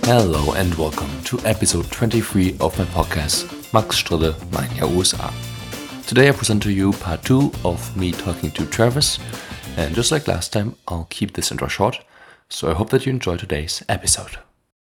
Hello and welcome to episode 23 of my podcast, Max Strille, Mein Jahr USA. Today I present to you part 2 of me talking to Travis, and just like last time, I'll keep this intro short, so I hope that you enjoy today's episode.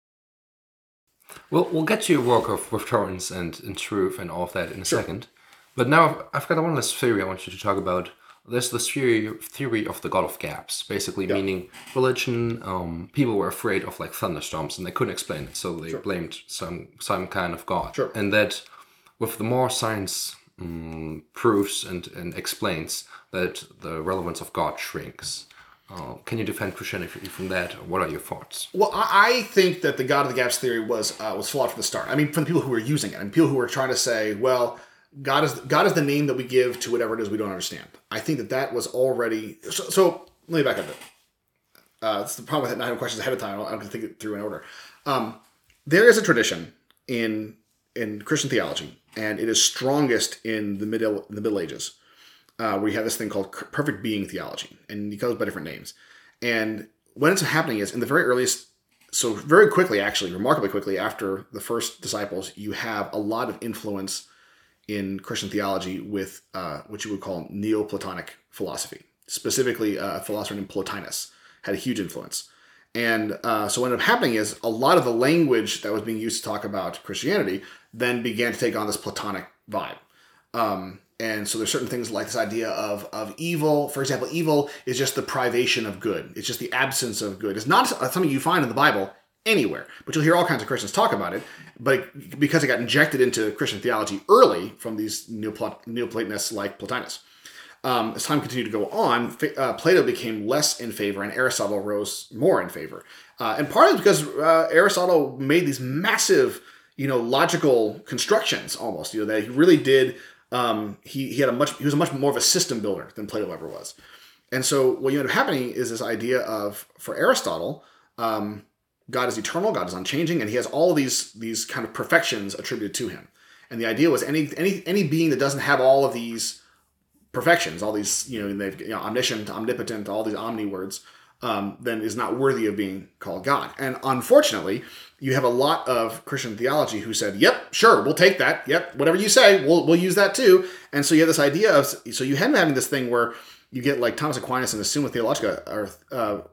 Well, we'll get to your work with Torrance and Truth and all of that in a second, but now I've got one last theory I want you to talk about. There's this theory of the God of Gaps, basically meaning religion. People were afraid of like thunderstorms and they couldn't explain it, so they blamed some kind of God. Sure. And that with the more science proves and explains that the relevance of God shrinks. Can you defend Christianity from that? Or what are your thoughts? Well, I think that the God of the Gaps theory was flawed from the start. I mean, from the people who were using it, and people who were trying to say, well, God is the name that we give to whatever it is we don't understand. I think that was already... So let me back up a bit. That's the problem with not having questions ahead of time. I'm going to think it through in order. There is a tradition in Christian theology, and it is strongest in the Middle Ages, where you have this thing called perfect being theology, and it goes by different names. And what ends up happening is, in the very earliest... So very quickly, actually, remarkably quickly, after the first disciples, you have a lot of influence in Christian theology with what you would call Neoplatonic philosophy. Specifically, a philosopher named Plotinus had a huge influence. And so what ended up happening is a lot of the language that was being used to talk about Christianity then began to take on this Platonic vibe. And so there's certain things like this idea of evil. For example, evil is just the privation of good. It's just the absence of good. It's not something you find in the Bible anywhere, but you'll hear all kinds of Christians talk about it. But because it got injected into Christian theology early from these Neoplatonists like Plotinus, as time continued to go on, Plato became less in favor, and Aristotle rose more in favor. And partly because Aristotle made these massive, logical constructions almost. That he really did. He was much more of a system builder than Plato ever was. And so what ended up happening is this idea of, for Aristotle, God is eternal, God is unchanging, and he has all these kind of perfections attributed to him. And the idea was any being that doesn't have all of these perfections, all these, omniscient, omnipotent, all these omni words, then is not worthy of being called God. And unfortunately, you have a lot of Christian theology who said, yep, sure, we'll take that. Yep, whatever you say, we'll use that too. And so you have this idea of, so you have having this thing where you get like Thomas Aquinas in the Summa Theologica, or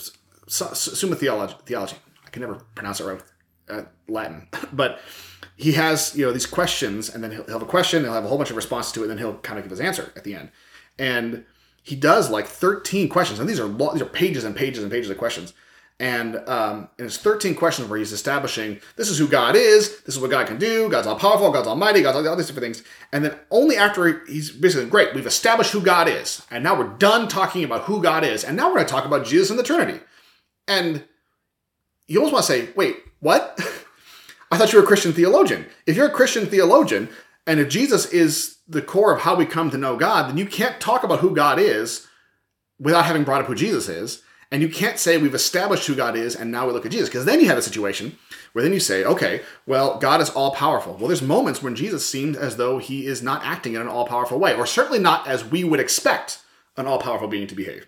Summa Theology. I can never pronounce it right with Latin. But he has, these questions, and then he'll have a question, he'll have a whole bunch of responses to it, and then he'll kind of give his answer at the end. And he does like 13 questions, and these are pages and pages and pages of questions. And it's 13 questions where he's establishing, this is who God is, this is what God can do, God's all-powerful, God's almighty, God's all these different things. And then only after he's basically, great, we've established who God is, and now we're done talking about who God is, and now we're going to talk about Jesus and the Trinity. And you almost want to say, wait, what? I thought you were a Christian theologian. If you're a Christian theologian, and if Jesus is the core of how we come to know God, then you can't talk about who God is without having brought up who Jesus is. And you can't say we've established who God is and now we look at Jesus. Because then you have a situation where then you say, okay, well, God is all-powerful. Well, there's moments when Jesus seemed as though he is not acting in an all-powerful way, or certainly not as we would expect an all-powerful being to behave.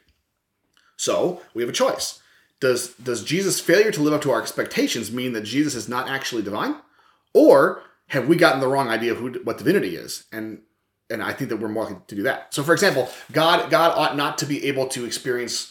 So we have a choice. Does Jesus' failure to live up to our expectations mean that Jesus is not actually divine? Or have we gotten the wrong idea of what divinity is? And I think that we're more likely to do that. So, for example, God ought not to be able to experience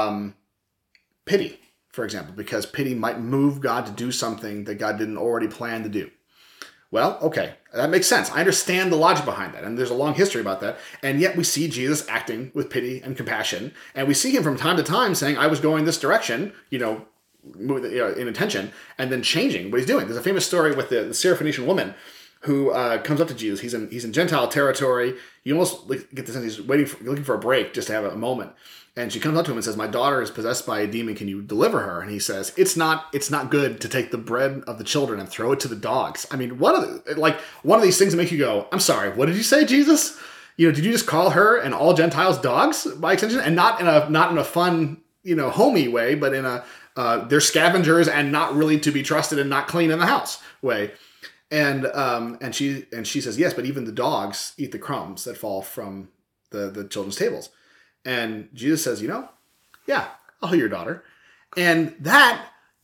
pity, for example, because pity might move God to do something that God didn't already plan to do. Well, okay, that makes sense. I understand the logic behind that, and there's a long history about that. And yet we see Jesus acting with pity and compassion, and we see him from time to time saying, I was going this direction, in intention, and then changing what he's doing. There's a famous story with the Syrophoenician woman who comes up to Jesus. He's in Gentile territory. You almost get the sense he's looking for a break, just to have a moment. And she comes up to him and says, my daughter is possessed by a demon. Can you deliver her? And he says, it's not good to take the bread of the children and throw it to the dogs. I mean, one of these things that make you go, I'm sorry, what did you say, Jesus? Did you just call her and all Gentiles dogs by extension? And not in a fun, homey way, but in a they're scavengers and not really to be trusted and not clean in the house way. And she says, yes, but even the dogs eat the crumbs that fall from the children's tables. And Jesus says, yeah, I'll heal your daughter. And that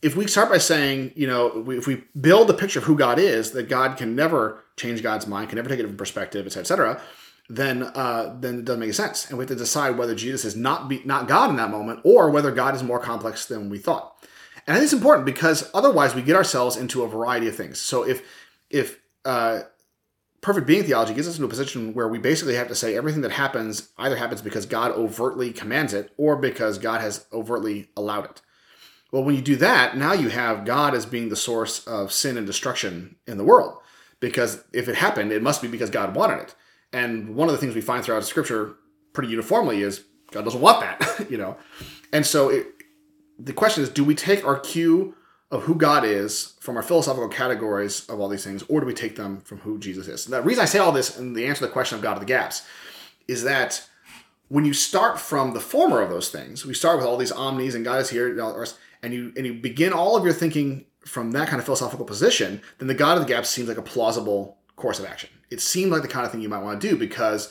if we start by saying, if we build a picture of who God is, that God can never change God's mind, can never take a different perspective, et cetera, then it doesn't make sense. And we have to decide whether Jesus is not God in that moment, or whether God is more complex than we thought. And I think it's important because otherwise we get ourselves into a variety of things. So if perfect being theology gets us into a position where we basically have to say everything that happens either happens because God overtly commands it or because God has overtly allowed it. Well, when you do that, now you have God as being the source of sin and destruction in the world. Because if it happened, it must be because God wanted it. And one of the things we find throughout Scripture pretty uniformly is God doesn't want that, And so the question is, do we take our cue of who God is from our philosophical categories of all these things, or do we take them from who Jesus is? And the reason I say all this, and the answer to the question of God of the gaps, is that when you start from the former of those things, we start with all these omnis and God is here, and you begin all of your thinking from that kind of philosophical position, then the God of the gaps seems like a plausible course of action. It seemed like the kind of thing you might want to do because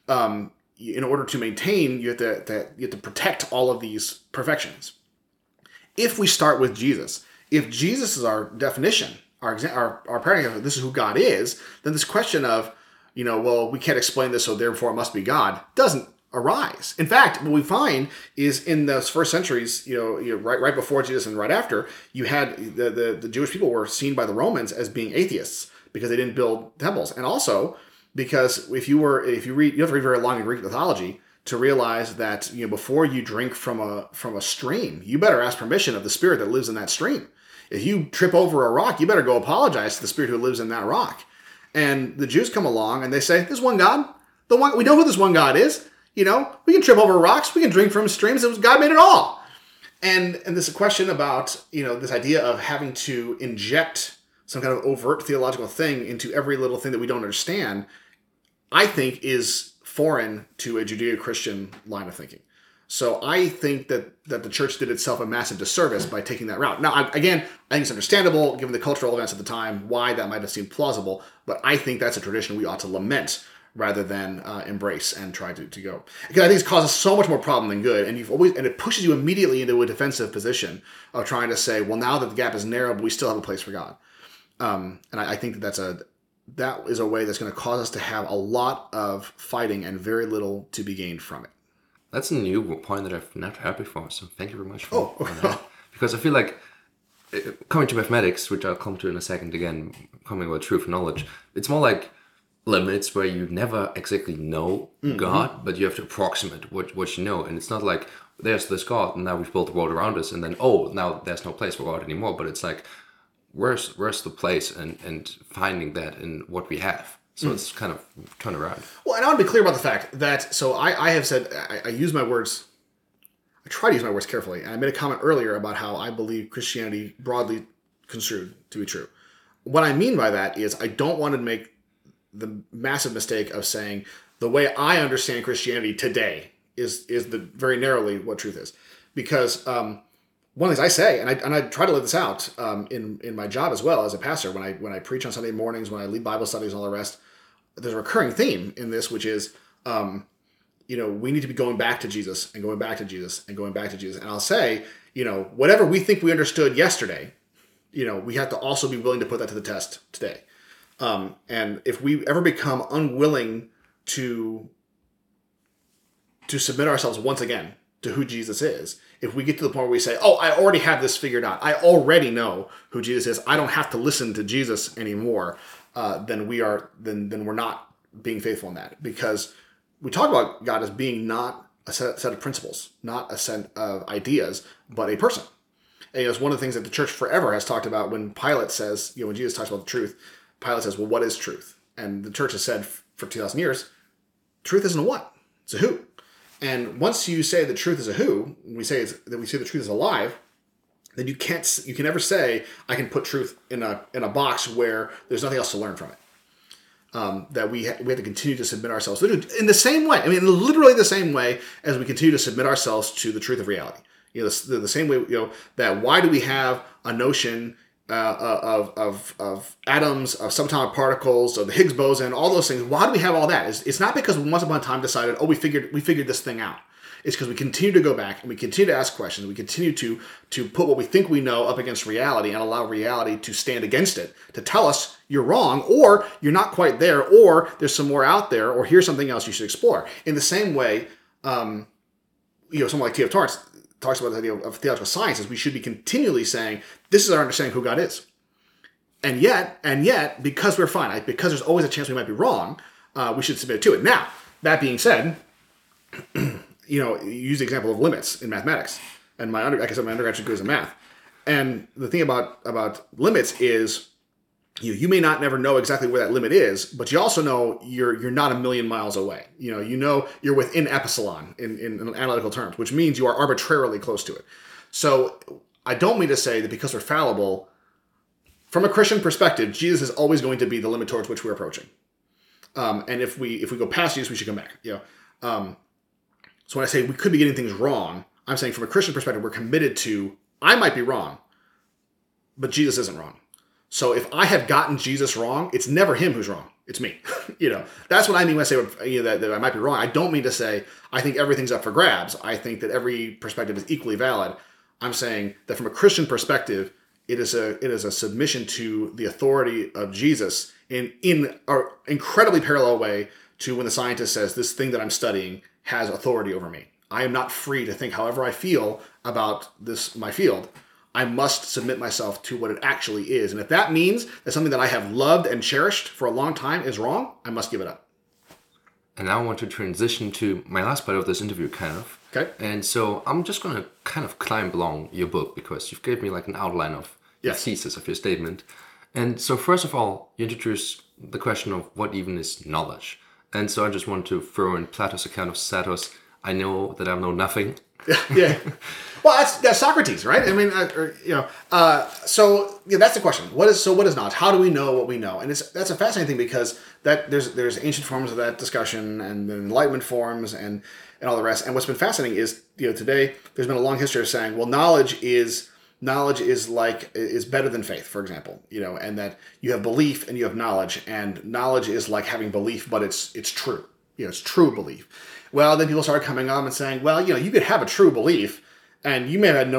in order to maintain, you have to protect all of these perfections. If we start with Jesus, if Jesus is our definition, our paradigm of this is who God is, then this question of, well, we can't explain this, so therefore it must be God, doesn't arise. In fact, what we find is in those first centuries, right before Jesus and right after, you had the Jewish people were seen by the Romans as being atheists because they didn't build temples, and also because if you read, you have to read very long in Greek mythology to realize that before you drink from a stream, you better ask permission of the spirit that lives in that stream. If you trip over a rock, you better go apologize to the spirit who lives in that rock. And the Jews come along and they say, "There's one God. We know who this one God is. We can trip over rocks. We can drink from streams. God made it all." And this question about this idea of having to inject some kind of overt theological thing into every little thing that we don't understand, I think is foreign to a Judeo-Christian line of thinking. So I think that the church did itself a massive disservice by taking that route. Now, I think it's understandable, given the cultural events of the time, why that might have seemed plausible, but I think that's a tradition we ought to lament rather than embrace and try to go. Because I think it's causes so much more problem than good, and it pushes you immediately into a defensive position of trying to say, well, now that the gap is narrow, but we still have a place for God. And I think that is a way that's going to cause us to have a lot of fighting and very little to be gained from it. That's a new point that I've not heard before, so thank you very much for that. Because I feel like, coming to mathematics, which I'll come to in a second again, coming about truth and knowledge, it's more like limits where you never exactly know God, but you have to approximate what you know. And it's not like, there's this God, and now we've built the world around us, and then, now there's no place for God anymore. But it's like, where's the place, and finding that in what we have. So it's kind of turn around. Well, and I want to be clear about the fact that, so I have said, I use my words, I try to use my words carefully. And I made a comment earlier about how I believe Christianity broadly construed to be true. What I mean by that is I don't want to make the massive mistake of saying the way I understand Christianity today is the very narrowly what truth is. Because one of the things I say, and I try to live this out in my job as well as a pastor, when I preach on Sunday mornings, when I lead Bible studies and all the rest, there's a recurring theme in this, which is, we need to be going back to Jesus and going back to Jesus and going back to Jesus. And I'll say, whatever we think we understood yesterday, we have to also be willing to put that to the test today. And if we ever become unwilling to submit ourselves once again to who Jesus is, if we get to the point where we say, I already have this figured out, I already know who Jesus is, I don't have to listen to Jesus anymore, then we're not being faithful in that. Because we talk about God as being not a set of principles, not a set of ideas, but a person. And it's one of the things that the church forever has talked about. When Pilate says, when Jesus talks about the truth, Pilate says, well, what is truth? And the church has said for 2,000 years, truth isn't a what, it's a who. And once you say the truth is a who, we say the truth is alive, then you can never say I can put truth in a box where there's nothing else to learn from it. That we have to continue to submit ourselves in the same way. I mean, literally the same way as we continue to submit ourselves to the truth of reality. The same way. That why do we have a notion of atoms, of subatomic particles, of the Higgs boson, all those things? Why do we have all that? It's not because we once upon a time decided, we figured this thing out. It's because we continue to go back and we continue to ask questions. We continue to put what we think we know up against reality and allow reality to stand against it, to tell us you're wrong, or you're not quite there, or there's some more out there, or here's something else you should explore. In the same way, someone like T.F. Torrance talks about the idea of theological science is we should be continually saying, this is our understanding of who God is. And yet, because we're finite, because there's always a chance we might be wrong, we should submit to it. Now, that being said, you use the example of limits in mathematics. And my undergraduate degree is in math. And the thing about limits is you may not never know exactly where that limit is, but you also know you're not a million miles away. You know you're within epsilon in analytical terms, which means you are arbitrarily close to it. So I don't mean to say that because we're fallible, from a Christian perspective, Jesus is always going to be the limit towards which we're approaching. And if we go past Jesus, we should come back. So when I say we could be getting things wrong, I'm saying from a Christian perspective, we're committed to, I might be wrong, but Jesus isn't wrong. So if I have gotten Jesus wrong, it's never him who's wrong. It's me. That's what I mean when I say that I might be wrong. I don't mean to say I think everything's up for grabs. I think that every perspective is equally valid. I'm saying that from a Christian perspective, it is a submission to the authority of Jesus in an incredibly parallel way to when the scientist says this thing that I'm studying has authority over me. I am not free to think however I feel about my field. I must submit myself to what it actually is. And if that means that something that I have loved and cherished for a long time is wrong, I must give it up. And now I want to transition to my last part of this interview, kind of. Okay. And so I'm just going to kind of climb along your book because you've gave me like an outline of the thesis of your statement. And so first of all, you introduce the question of what even is knowledge. And so I just want to throw in Plato's account of Satos. I know that I know nothing. Yeah. Well, that's Socrates, right? I mean, so that's the question. What is knowledge? How do we know what we know? And that's a fascinating thing because there's ancient forms of that discussion and Enlightenment forms and all the rest. And what's been fascinating is today there's been a long history of saying, well, knowledge is better than faith, for example, and that you have belief and you have knowledge, and knowledge is like having belief, but it's true. It's true belief. Well, then people started coming on and saying, well, you could have a true belief, and you may have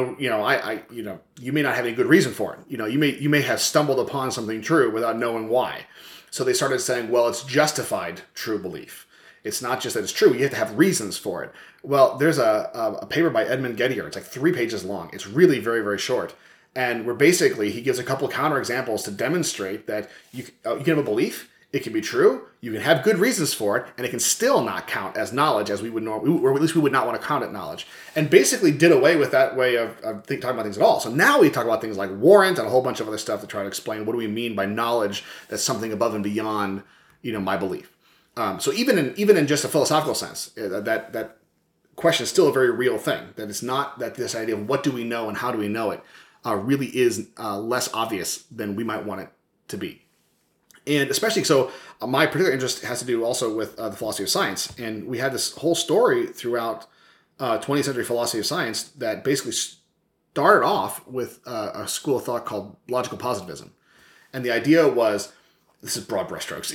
you may not have any good reason for it. You may have stumbled upon something true without knowing why. So they started saying, well, it's justified true belief. It's not just that it's true. You have to have reasons for it. Well, there's a paper by Edmund Gettier. It's like 3 pages long. It's really very, very short. And where basically he gives a couple of counterexamples to demonstrate that you can have a belief, it can be true, you can have good reasons for it, and it can still not count as knowledge as we would normally, or at least we would not want to count it knowledge. And basically did away with that way of talking about things at all. So now we talk about things like warrant and a whole bunch of other stuff to try to explain what do we mean by knowledge that's something above and beyond, my belief. So even in just a philosophical sense, that question is still a very real thing. That it's not that this idea of what do we know and how do we know it really is less obvious than we might want it to be. And especially so, my particular interest has to do also with the philosophy of science. And we had this whole story throughout 20th century philosophy of science that basically started off with a school of thought called logical positivism. And the idea was, this is broad brushstrokes,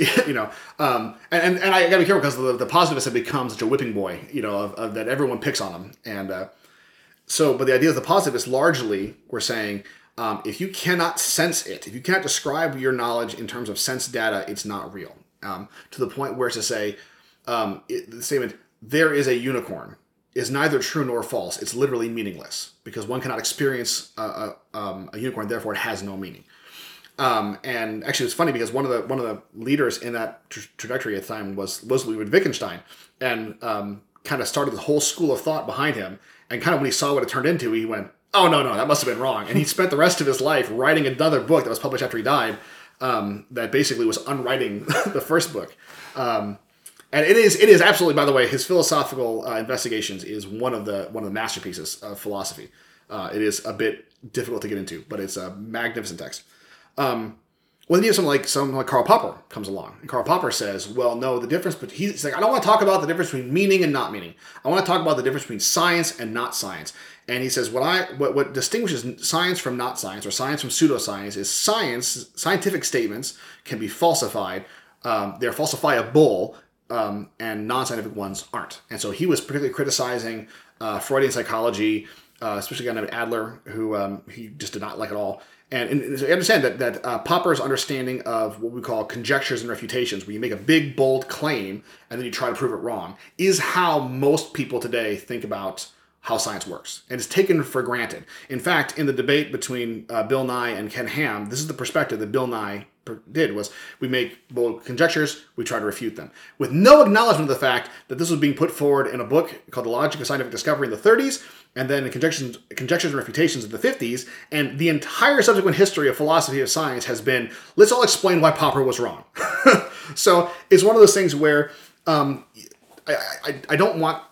and I gotta be careful because the positivists have become such a whipping boy, of that everyone picks on them. And but the idea of the positivists largely were saying, if you cannot sense it, if you cannot describe your knowledge in terms of sense data, it's not real. To the point where to say, the statement, there is a unicorn, is neither true nor false. It's literally meaningless because one cannot experience a unicorn, therefore it has no meaning. And actually, it's funny because one of the leaders in that trajectory at the time was Ludwig Wittgenstein, and kind of started the whole school of thought behind him. And kind of when he saw what it turned into, he went, "Oh no, that must have been wrong." And he spent the rest of his life writing another book that was published after he died, that basically was unwriting the first book. And it is absolutely, by the way, his philosophical investigations is one of the masterpieces of philosophy. It is a bit difficult to get into, but it's a magnificent text. Well, then you have someone like Karl Popper comes along, and Karl Popper says, well, no, the difference, but he's like, I don't want to talk about the difference between meaning and not meaning. I want to talk about the difference between science and not science. And he says, what distinguishes science from not science, or science from pseudoscience, is scientific statements can be falsified. They're falsifiable and non-scientific ones aren't. And so he was particularly criticizing Freudian psychology, especially a guy named Adler, who he just did not like at all. And so I understand that Popper's understanding of what we call conjectures and refutations, where you make a big, bold claim and then you try to prove it wrong, is how most people today think about how science works. And it's taken for granted. In fact, in the debate between Bill Nye and Ken Ham, this is the perspective that Bill Nye did, was we make bold conjectures, we try to refute them. With no acknowledgement of the fact that this was being put forward in a book called The Logic of Scientific Discovery in the 30s, and then in Conjectures and Refutations in the 50s, and the entire subsequent history of philosophy of science has been, let's all explain why Popper was wrong. So it's one of those things where I don't want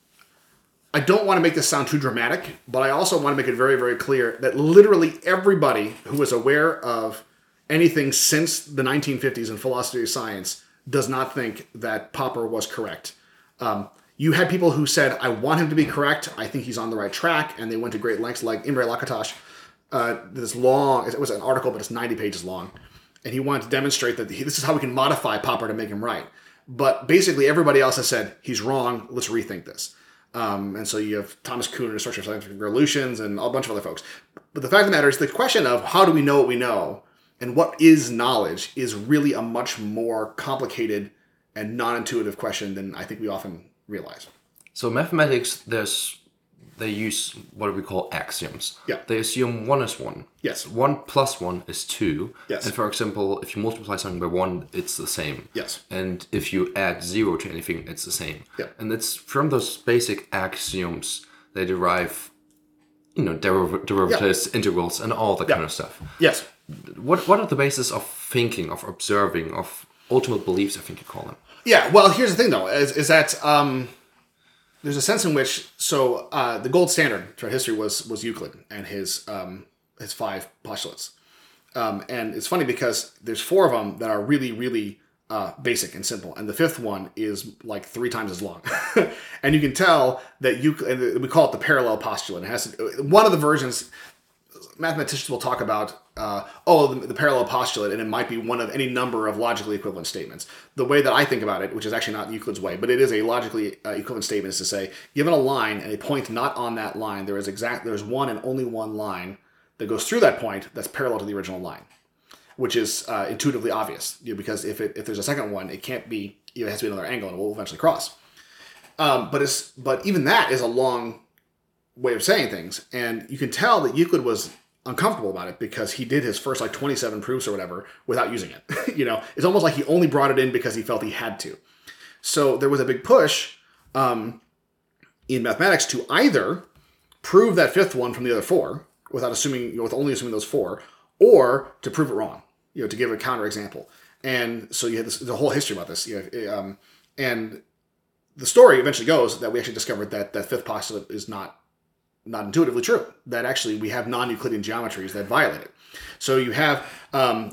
to make this sound too dramatic, but I also want to make it very, very clear that literally everybody who is aware of anything since the 1950s in philosophy of science does not think that Popper was correct. You had people who said, I want him to be correct, I think he's on the right track, and they went to great lengths, like Imre Lakatos, this long, it was an article, but it's 90 pages long, and he wanted to demonstrate that this is how we can modify Popper to make him right. But basically everybody else has said, he's wrong, let's rethink this. And so you have Thomas Kuhn in Research of Scientific Revolutions and a bunch of other folks. But the fact of the matter is the question of how do we know what we know and what is knowledge is really a much more complicated and non-intuitive question than I think we often realize. So mathematics, they use what we call axioms. Yeah. They assume 1 is 1. Yes. 1 plus 1 is 2. Yes. And for example, if you multiply something by 1, it's the same. Yes. And if you add 0 to anything, it's the same. Yeah. And it's from those basic axioms they derive, derivatives, integrals, and all that kind of stuff. Yes. What are the basis of thinking, of observing, of ultimate beliefs, I think you call them? Yeah, well, here's the thing, though, is that there's a sense in which, the gold standard throughout history was Euclid and his 5 postulates. And it's funny because there's 4 of them that are really, really basic and simple. And the 5th one is like 3 times as long. And you can tell that Euclid, we call it the parallel postulate. It has one of the versions, mathematicians will talk about, the parallel postulate, and it might be one of any number of logically equivalent statements. The way that I think about it, which is actually not Euclid's way, but it is a logically equivalent statement, is to say, given a line and a point not on that line, there's one and only one line that goes through that point that's parallel to the original line, which is intuitively obvious, because if there's a second one, it can't be, it has to be another angle, and it will eventually cross. But even that is a long way of saying things, and you can tell that Euclid was uncomfortable about it because he did his first 27 proofs or whatever without using it. It's almost like he only brought it in because he felt he had to. So there was a big push in mathematics to either prove that 5th one from the other 4 without assuming, with only assuming those 4, or to prove it wrong, to give a counterexample. And so you had the whole history about this. And the story eventually goes that we actually discovered that 5th postulate is not intuitively true. That actually we have non-Euclidean geometries that violate it. So you have an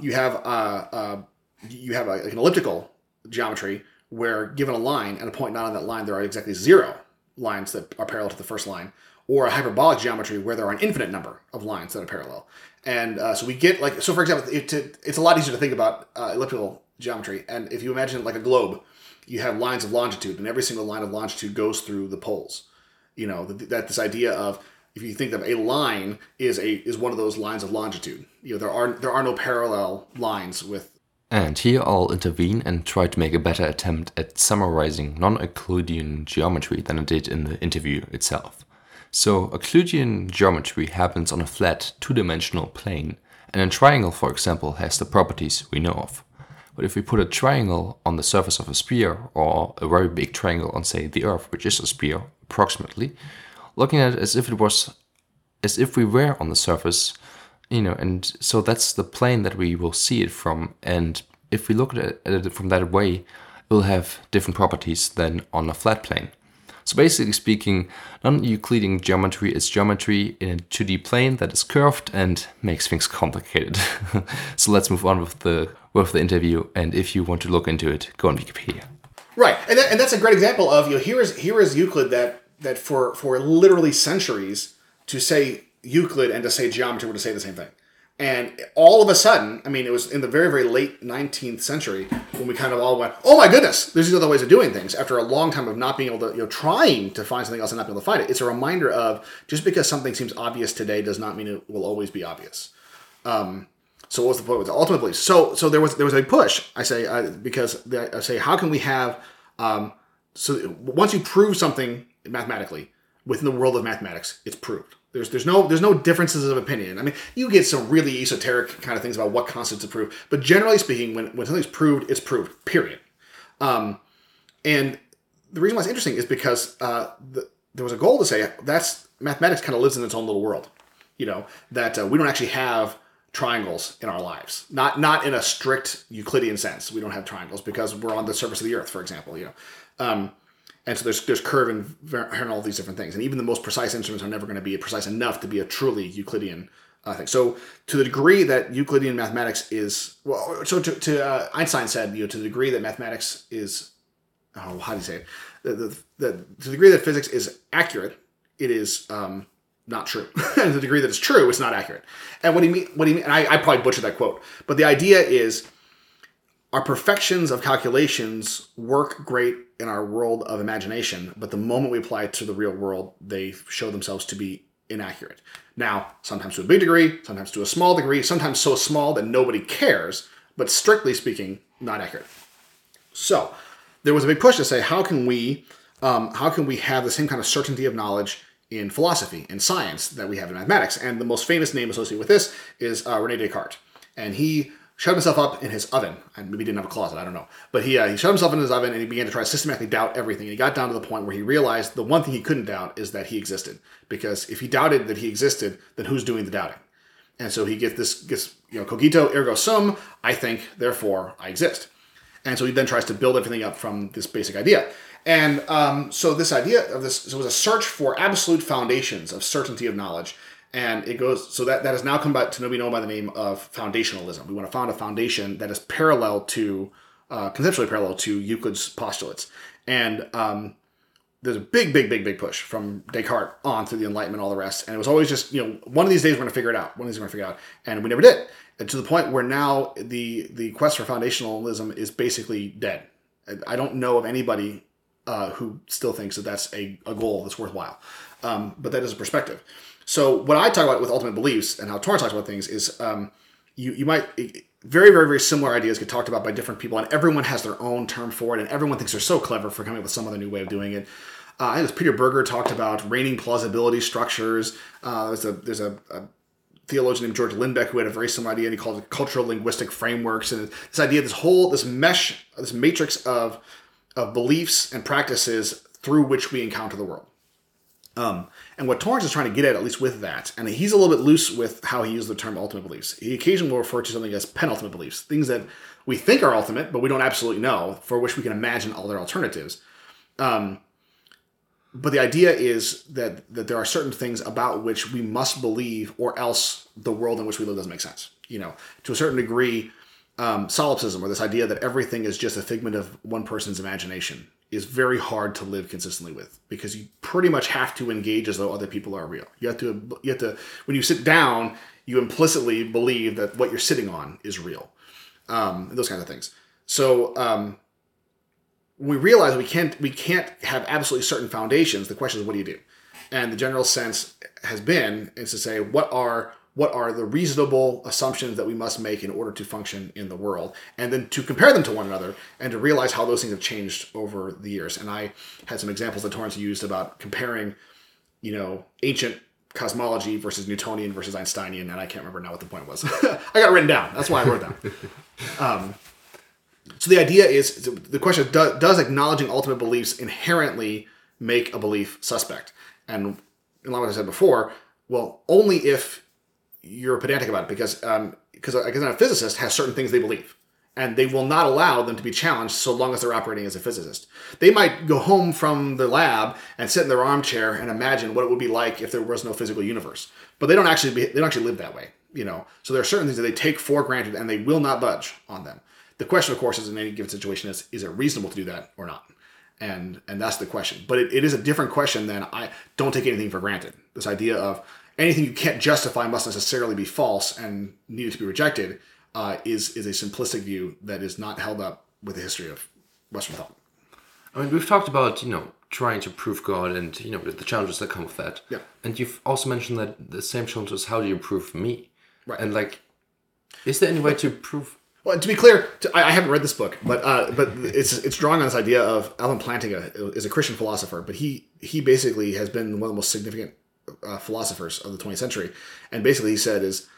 elliptical geometry where, given a line and a point not on that line, there are exactly 0 lines that are parallel to the first line, or a hyperbolic geometry where there are an infinite number of lines that are parallel. And so we get for example, it's a lot easier to think about elliptical geometry. And if you imagine like a globe, you have lines of longitude, and every single line of longitude goes through the poles. That this idea of, if you think of a line is one of those lines of longitude. There are no parallel lines with. And here I'll intervene and try to make a better attempt at summarizing non-Euclidean geometry than I did in the interview itself. So Euclidean geometry happens on a flat 2-dimensional plane, and a triangle, for example, has the properties we know of. But if we put a triangle on the surface of a sphere, or a very big triangle on, say, the Earth, which is a sphere, approximately, looking at it as if we were on the surface, and so that's the plane that we will see it from. And if we look at it from that way, it will have different properties than on a flat plane. So basically speaking, non-Euclidean geometry is geometry in a 2D plane that is curved and makes things complicated. So let's move on with the interview, and if you want to look into it, go on Wikipedia. Right, and that's a great example of, here is Euclid that for literally centuries, to say Euclid and to say geometry were to say the same thing. And all of a sudden, I mean, it was in the very, very late 19th century when we kind of all went, oh my goodness, there's these other ways of doing things. After a long time of not being able to, trying to find something else and not being able to find it, it's a reminder of just because something seems obvious today does not mean it will always be obvious. So what was the point with the ultimate beliefs? So there was a push, I say, because I say, how can we have, so once you prove something mathematically within the world of mathematics, it's proved. There's no differences of opinion. I mean, you get some really esoteric kind of things about what constitutes a proof, but generally speaking, when something's proved, it's proved. Period. And the reason why it's interesting is because there was a goal to say that's mathematics kind of lives in its own little world. That we don't actually have triangles in our lives. Not in a strict Euclidean sense. We don't have triangles because we're on the surface of the Earth, for example. And so there's curve and all these different things. And even the most precise instruments are never going to be precise enough to be a truly Euclidean thing. So to the degree that Euclidean mathematics is, well, so to Einstein said, to the degree that mathematics is, how do you say it? To the degree that physics is accurate, it is not true. And to the degree that it's true, it's not accurate. And what do you mean? And I probably butchered that quote. But the idea is, our perfections of calculations work great in our world of imagination, but the moment we apply it to the real world, they show themselves to be inaccurate. Now, sometimes to a big degree, sometimes to a small degree, sometimes so small that nobody cares, but strictly speaking, not accurate. So there was a big push to say, how can we have the same kind of certainty of knowledge in philosophy and science that we have in mathematics? And the most famous name associated with this is René Descartes. And he shut himself up in his oven. And maybe he didn't have a closet, I don't know. But he shut himself in his oven and he began to try to systematically doubt everything. And he got down to the point where he realized the one thing he couldn't doubt is that he existed. Because if he doubted that he existed, then who's doing the doubting? And so he gets cogito ergo sum, I think, therefore I exist. And so he then tries to build everything up from this basic idea. And so this idea of this, so it was a search for absolute foundations of certainty of knowledge. And it goes, so that has now come back to be known by the name of foundationalism. We want to found a foundation that is parallel to, conceptually parallel to Euclid's postulates. And there's a big push from Descartes on through the Enlightenment, all the rest. And it was always just, one of these days we're going to figure it out. And we never did. And to the point where now the quest for foundationalism is basically dead. I don't know of anybody who still thinks that that's a goal that's worthwhile. But that is a perspective. So what I talk about with ultimate beliefs and how Torrance talks about things is you might, very, very, very similar ideas get talked about by different people, and everyone has their own term for it, and everyone thinks they're so clever for coming up with some other new way of doing it. I think it was Peter Berger talked about reigning plausibility structures. There's a theologian named George Lindbeck who had a very similar idea, and he called it cultural linguistic frameworks. And this idea, this mesh, this matrix of beliefs and practices through which we encounter the world. And what Torrance is trying to get at least with that, and he's a little bit loose with how he uses the term ultimate beliefs. He occasionally will refer to something as penultimate beliefs, things that we think are ultimate, but we don't absolutely know, for which we can imagine all their alternatives. But the idea is that there are certain things about which we must believe, or else the world in which we live doesn't make sense. To a certain degree, solipsism, or this idea that everything is just a figment of one person's imagination, is very hard to live consistently with, because you pretty much have to engage as though other people are real. You have to when you sit down, you implicitly believe that what you're sitting on is real. Those kinds of things. So when we realize we can't have absolutely certain foundations, the question is, what do you do? And the general sense has been is to say, what are the reasonable assumptions that we must make in order to function in the world, and then to compare them to one another and to realize how those things have changed over the years. And I had some examples that Torrance used about comparing, ancient cosmology versus Newtonian versus Einsteinian, and I can't remember now what the point was. I got it written down. That's why I wrote it down. So the idea is, the question is, does acknowledging ultimate beliefs inherently make a belief suspect? And like I said before, well, only if you're pedantic about it, because a physicist has certain things they believe, and they will not allow them to be challenged so long as they're operating as a physicist. They might go home from the lab and sit in their armchair and imagine what it would be like if there was no physical universe, but they don't actually live that way. So there are certain things that they take for granted, and they will not budge on them. The question, of course, is in any given situation is it reasonable to do that or not? And that's the question. But it is a different question than I don't take anything for granted. This idea of anything you can't justify must necessarily be false and needed to be rejected is a simplistic view that is not held up with the history of Western thought. I mean, we've talked about, trying to prove God and, the challenges that come with that. Yeah. And you've also mentioned that the same challenge is how do you prove me? Right. And is there any way to prove... Well, to be clear, I haven't read this book, but it's drawing on this idea of Alan Plantinga is a Christian philosopher, but he basically has been one of the most significant philosophers of the 20th century, and basically he said is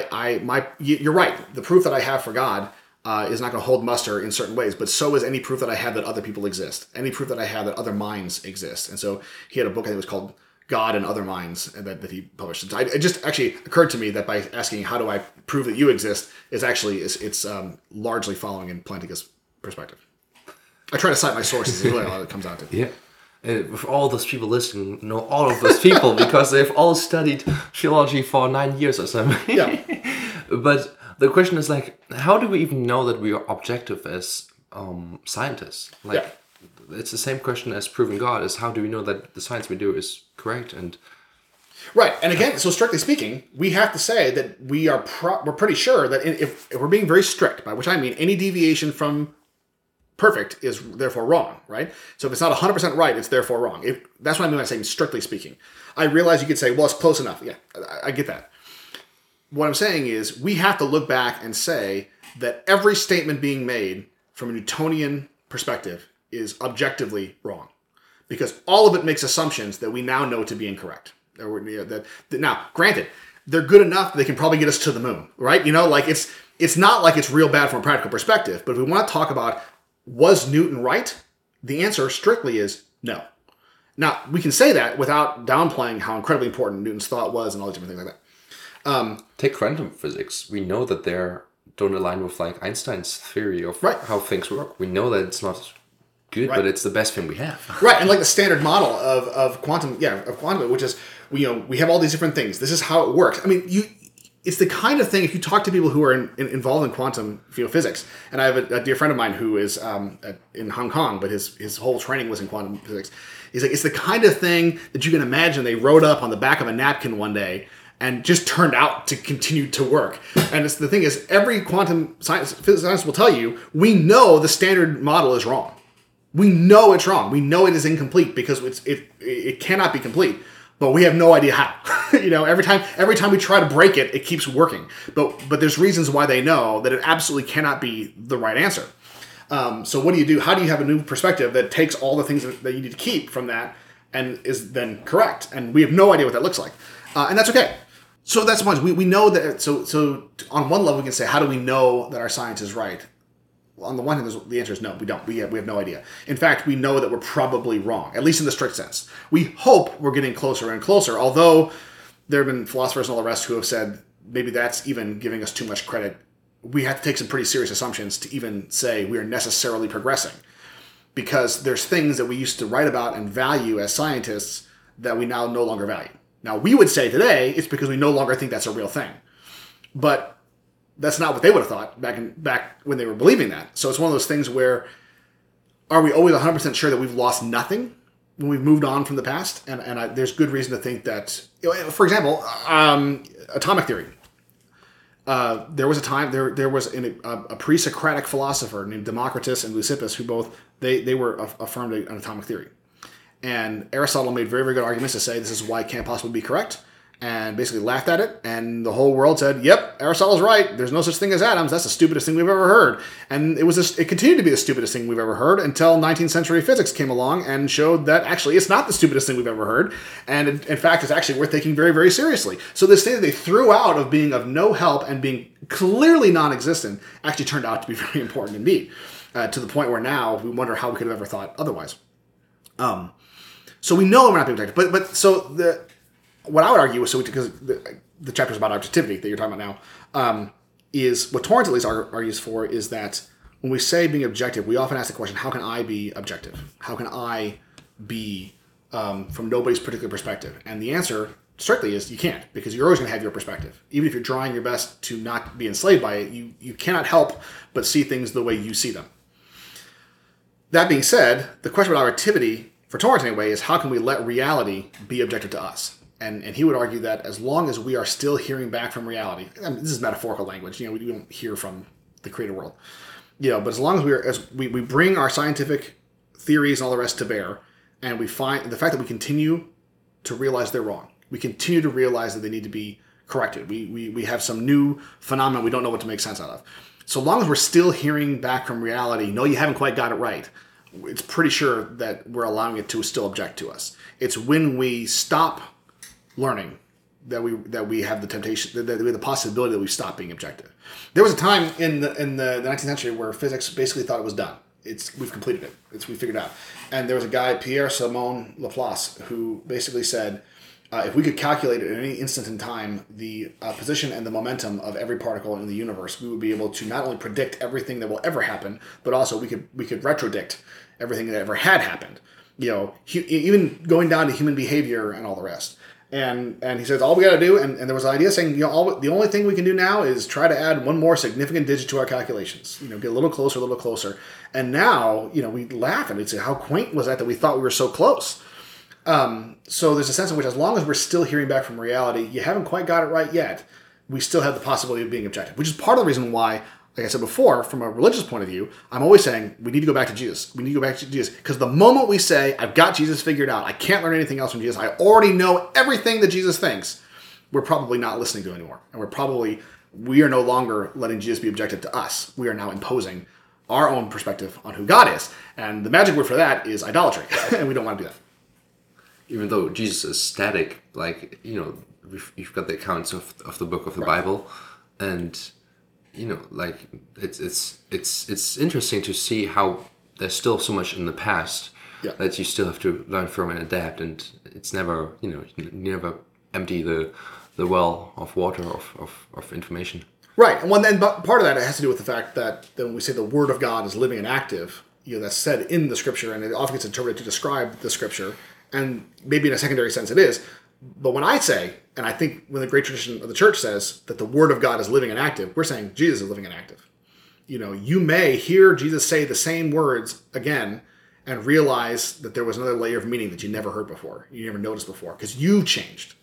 you're right. The proof that I have for God is not going to hold muster in certain ways, but so is any proof that I have that other people exist, any proof that I have that other minds exist. And so he had a book I think it was called God and Other Minds, and that he published. It just actually occurred to me that by asking how do I prove that you exist is actually it's largely following in Plantinga's perspective. I try to cite my sources is really all it comes out to. Yeah. With all those people listening, know all of those people because they've all studied theology for 9 years or something. Yeah. But the question is how do we even know that we are objective as scientists? It's the same question as proving God is how do we know that the science we do is correct and right. And again, so strictly speaking, we have to say that we're pretty sure that if we're being very strict, by which I mean any deviation from perfect is therefore wrong, right? So if it's not 100% right, it's therefore wrong. That's what I mean by saying strictly speaking. I realize you could say, well, it's close enough. Yeah, I get that. What I'm saying is we have to look back and say that every statement being made from a Newtonian perspective is objectively wrong, because all of it makes assumptions that we now know to be incorrect. Now, granted, they're good enough that they can probably get us to the moon, right? It's not like it's real bad from a practical perspective, but if we want to talk about was Newton right, the answer strictly is no. Now, we can say that without downplaying how incredibly important Newton's thought was and all these different things like that. Take quantum physics. We know that they don't align with Einstein's theory of how things work. We know that it's not good, but it's the best thing we have. Right, and the standard model of quantum, which is we have all these different things. This is how it works. I mean, it's the kind of thing, if you talk to people who are involved in quantum physics, and I have a dear friend of mine who is in Hong Kong, but his whole training was in quantum physics. He's like, it's the kind of thing that you can imagine they wrote up on the back of a napkin one day and just turned out to continue to work. And the thing is, every quantum science will tell you, we know the standard model is wrong. We know it's wrong. We know it is incomplete because it cannot be complete, but we have no idea how. Every time we try to break it, it keeps working. But there's reasons why they know that it absolutely cannot be the right answer. So what do you do? How do you have a new perspective that takes all the things that you need to keep from that and is then correct? And we have no idea what that looks like, and that's okay. So that's the point. We know that. So on one level, we can say, how do we know that our science is right? On the one hand, the answer is no, we don't. We have no idea. In fact, we know that we're probably wrong, at least in the strict sense. We hope we're getting closer and closer, although there have been philosophers and all the rest who have said maybe that's even giving us too much credit. We have to take some pretty serious assumptions to even say we are necessarily progressing, because there's things that we used to write about and value as scientists that we now no longer value. Now, we would say today it's because we no longer think that's a real thing. But that's not what they would have thought back when they were believing that. So it's one of those things where, are we always 100% sure that we've lost nothing when we've moved on from the past? And there's good reason to think that, for example, atomic theory. There was a time, there was a pre-Socratic philosopher named Democritus and Leucippus who both, they were affirmed an atomic theory. And Aristotle made very, very good arguments to say this is why it can't possibly be correct, and basically laughed at it, and the whole world said, yep, Aristotle's right, there's no such thing as atoms, that's the stupidest thing we've ever heard. And it continued to be the stupidest thing we've ever heard until 19th century physics came along and showed that actually it's not the stupidest thing we've ever heard, and in fact it's actually worth taking very, very seriously. So this thing that they threw out of being of no help and being clearly non-existent actually turned out to be very important indeed, to the point where now we wonder how we could have ever thought otherwise. So we know we're not being objective, but what I would argue is, because the chapter is about objectivity that you're talking about now, is what Torrance at least argues for is that when we say being objective, we often ask the question, how can I be objective? How can I be from nobody's particular perspective? And the answer strictly is you can't, because you're always going to have your perspective. Even if you're trying your best to not be enslaved by it, you cannot help but see things the way you see them. That being said, the question about objectivity, for Torrance anyway, is how can we let reality be objective to us? And he would argue that as long as we are still hearing back from reality, I mean, this is metaphorical language, we don't hear from the created world, but as long as we bring our scientific theories and all the rest to bear, and we find the fact that we continue to realize they're wrong, we continue to realize that they need to be corrected. We have some new phenomenon we don't know what to make sense out of. So long as we're still hearing back from reality, no, you haven't quite got it right, it's pretty sure that we're allowing it to still object to us. It's when we stop learning that we have the temptation, that we have the possibility that we stop being objective. There was a time in the 19th century where physics basically thought it was done. We've completed it. We figured it out. And there was a guy, Pierre-Simon Laplace, who basically said, if we could calculate at any instant in time the position and the momentum of every particle in the universe, we would be able to not only predict everything that will ever happen, but also we could retrodict everything that ever had happened. Even going down to human behavior and all the rest. And he says, all we got to do, and there was an idea saying, the only thing we can do now is try to add one more significant digit to our calculations. Get a little closer. And now, we laugh and we'd say, how quaint was that we thought we were so close? So there's a sense in which as long as we're still hearing back from reality, you haven't quite got it right yet, we still have the possibility of being objective, which is part of the reason why, like I said before, from a religious point of view, I'm always saying we need to go back to Jesus. We need to go back to Jesus. Because the moment we say, I've got Jesus figured out, I can't learn anything else from Jesus, I already know everything that Jesus thinks, we're probably not listening to anymore. And we are no longer letting Jesus be objective to us. We are now imposing our own perspective on who God is. And the magic word for that is idolatry. And we don't want to do that. Even though Jesus is static, you've got the accounts of the book of the Bible, and it's interesting to see how there's still so much in the past that you still have to learn from and adapt, and it's never you never empty the well of water of information. Right, and part of that has to do with the fact that when we say the Word of God is living and active, that's said in the Scripture, and it often gets interpreted to describe the Scripture. And maybe in a secondary sense it is. But when I say, and I think when the great tradition of the church says that the Word of God is living and active, we're saying Jesus is living and active. You may hear Jesus say the same words again and realize that there was another layer of meaning that you never heard before, you never noticed before, because you've changed.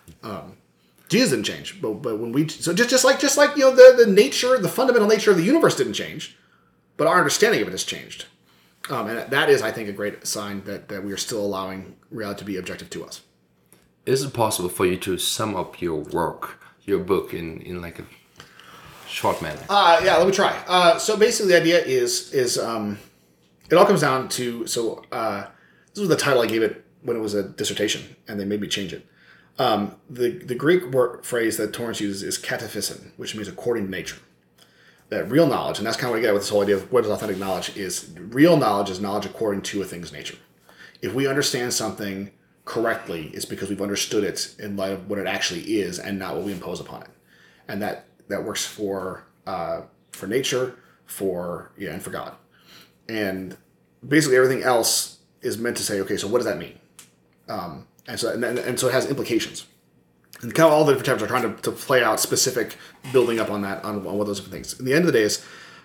Jesus didn't change, but when just like the nature, the fundamental nature of the universe didn't change, but our understanding of it has changed. And that is, I think, a great sign that we are still allowing reality to be objective to us. Is it possible for you to sum up your book, in like a short manner? Yeah, let me try. So basically the idea is it all comes down to, this was the title I gave it when it was a dissertation, and they made me change it. The Greek phrase that Torrance uses is kataphysin, which means according to nature. That real knowledge, and that's kind of what I get with this whole idea of what is authentic knowledge, is real knowledge is knowledge according to a thing's nature. If we understand something correctly, it's because we've understood it in light of what it actually is and not what we impose upon it. And that works for nature, and for God. And basically everything else is meant to say, okay, so what does that mean? And so it has implications. And kind of all the different types are trying to play out specific building up on that, on what those different things. In the end of the day is,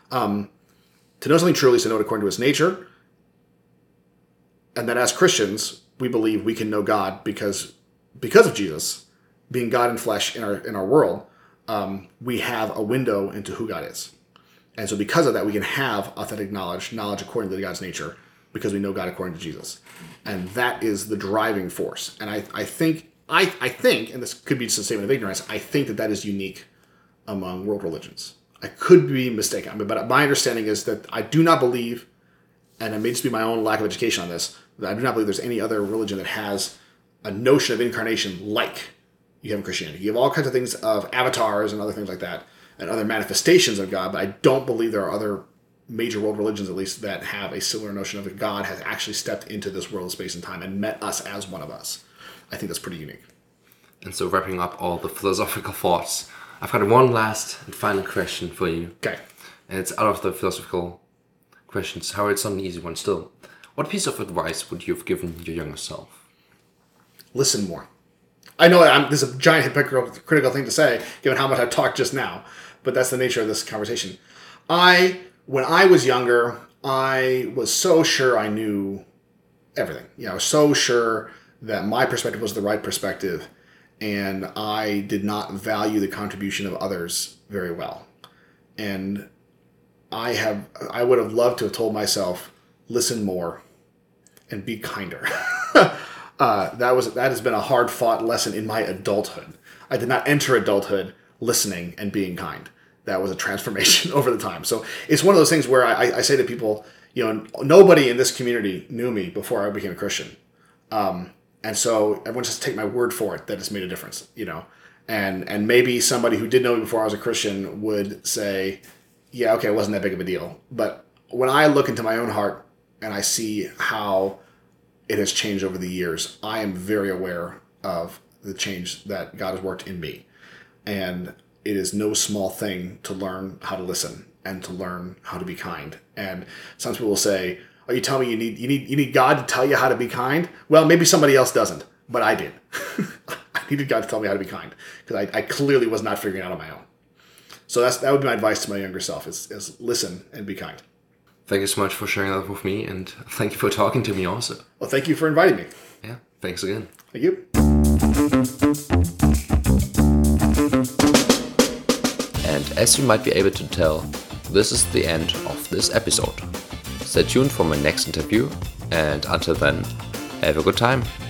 to know something truly is to know it according to its nature. And that as Christians, we believe we can know God because of Jesus, being God in flesh in our world, we have a window into who God is. And so because of that, we can have authentic knowledge according to God's nature, because we know God according to Jesus. And that is the driving force. And I think, and this could be just a statement of ignorance, I think that is unique among world religions. I could be mistaken, but my understanding is that I do not believe, and it may just be my own lack of education on this, that I do not believe there's any other religion that has a notion of incarnation like you have in Christianity. You have all kinds of things of avatars and other things like that, and other manifestations of God, but I don't believe there are other major world religions, at least, that have a similar notion of that God has actually stepped into this world of space and time and met us as one of us. I think that's pretty unique. And so, wrapping up all the philosophical thoughts, I've got one last and final question for you. Okay. And it's out of the philosophical questions. However, it's not an easy one still. What piece of advice would you have given your younger self? Listen more. I know this is a giant hypocritical thing to say, given how much I've talked just now, but that's the nature of this conversation. When I was younger, I was so sure I knew everything. I was so sure that my perspective was the right perspective. and I did not value the contribution of others very well. And I would have loved to have told myself, listen more and be kinder. That has been a hard fought lesson in my adulthood. I did not enter adulthood listening and being kind. That was a transformation over the time. So it's one of those things where I say to people, nobody in this community knew me before I became a Christian. And so everyone just take my word for it that it's made a difference, and maybe somebody who did know me before I was a Christian would say, yeah, okay, it wasn't that big of a deal. But when I look into my own heart and I see how it has changed over the years, I am very aware of the change that God has worked in me. And it is no small thing to learn how to listen and to learn how to be kind. And some people will say, are you telling me you need God to tell you how to be kind? Well, maybe somebody else doesn't, but I did. I needed God to tell me how to be kind because I clearly was not figuring it out on my own. So that would be my advice to my younger self is listen and be kind. Thank you so much for sharing that with me, and thank you for talking to me also. Well, thank you for inviting me. Yeah, thanks again. Thank you. And as you might be able to tell, this is the end of this episode. Stay tuned for my next interview, and until then, have a good time.